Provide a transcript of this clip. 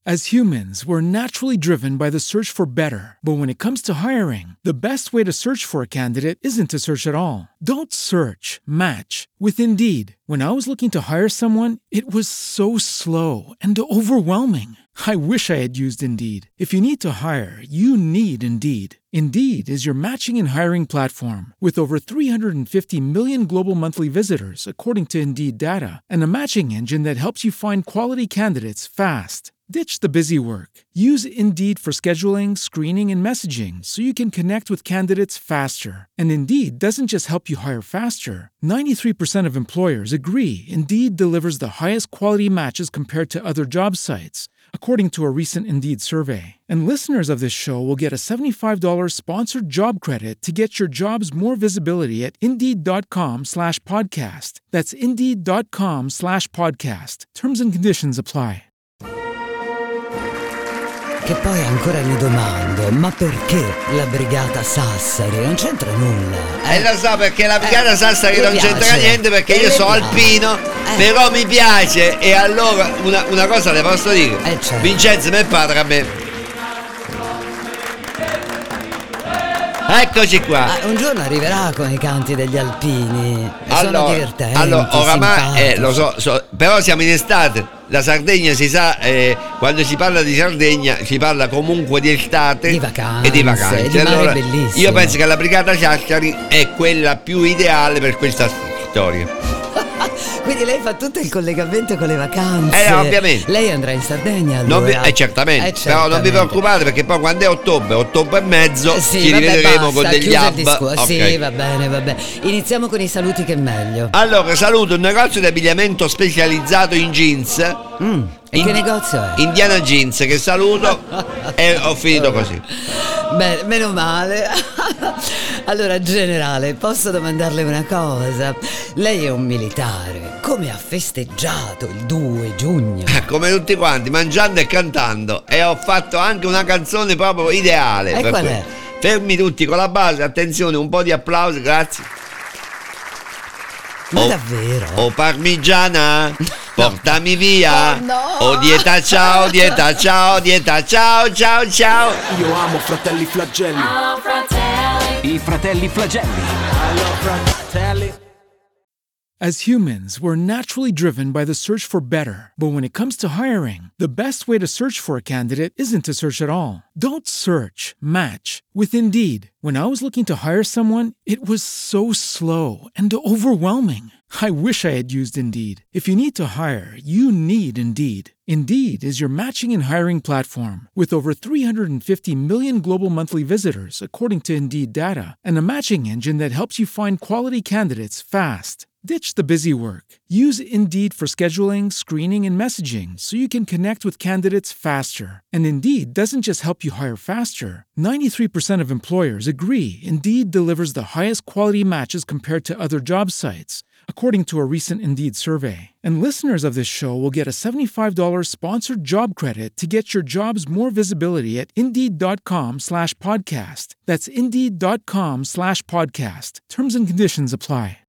As humans, we're naturally driven by the search for better. But when it comes to hiring, the best way to search for a candidate isn't to search at all. Don't search, match with Indeed. When I was looking to hire someone, it was so slow and overwhelming. I wish I had used Indeed. If you need to hire, you need Indeed. Indeed is your matching and hiring platform with over 350 million global monthly visitors, according to Indeed data, and a matching engine that helps you find quality candidates fast. Ditch the busy work. Use Indeed for scheduling, screening, and messaging so you can connect with candidates faster. And Indeed doesn't just help you hire faster. 93% of employers agree Indeed delivers the highest quality matches compared to other job sites, according to a recent Indeed survey. And listeners of this show will get a $75 sponsored job credit to get your jobs more visibility at Indeed.com/podcast. That's Indeed.com/podcast. Terms and conditions apply. Che poi ancora mi domando, ma perché la brigata Sassari? Non c'entra nulla. Lo so, perché la brigata Sassari non piace. c'entra niente, perché io sono alpino, però mi piace. E allora una cosa le posso dire, Certo. Vincenzo, mio padre, a me. Eccoci qua. Un giorno arriverà con i canti degli alpini. Sono divertenti. Allora, oramai lo simpatici. so, però siamo in estate. La Sardegna si sa, quando si parla di Sardegna si parla comunque di estate Di vacanze, e di vacanze. di mare Allora, bellissimo. io penso che la brigata Sassari è quella più ideale per questa storia. Quindi lei fa tutto il collegamento con le vacanze. Ovviamente. Lei andrà in Sardegna allora? Certamente. Però non vi preoccupate, perché poi quando è ottobre e mezzo ci vabbè, rivedremo basta, con degli chiuso il hub. discorso. Ok. Sì, va bene. Iniziamo con i saluti, che è meglio. Allora, saluto un negozio di abbigliamento specializzato in jeans. E che negozio è? Indiana Jeans, che saluto e ho finito così. Beh, meno male. Allora, generale, posso domandarle una cosa? Lei è un militare. Come ha festeggiato il 2 giugno? Come tutti quanti, mangiando e cantando. E ho fatto anche una canzone proprio ideale. E per qual quello. è? Fermi tutti con la base, attenzione, un po' di applausi, grazie. Ma davvero? Oh parmigiana, portami via. Oh, no. Oh dieta ciao, dieta ciao, dieta ciao, ciao, ciao. Io amo Fratelli Flagelli. I fratelli Flagelli. As humans, we're naturally driven by the search for better. But when it comes to hiring, the best way to search for a candidate isn't to search at all. Don't search, match with Indeed. When I was looking to hire someone, it was so slow and overwhelming. I wish I had used Indeed. If you need to hire, you need Indeed. Indeed is your matching and hiring platform with over 350 million global monthly visitors, according to Indeed data, and a matching engine that helps you find quality candidates fast. Ditch the busy work. Use Indeed for scheduling, screening, and messaging so you can connect with candidates faster. And Indeed doesn't just help you hire faster. 93% of employers agree Indeed delivers the highest quality matches compared to other job sites, according to a recent Indeed survey. And listeners of this show will get a $75 sponsored job credit to get your jobs more visibility at Indeed.com/podcast. That's Indeed.com/podcast. Terms and conditions apply.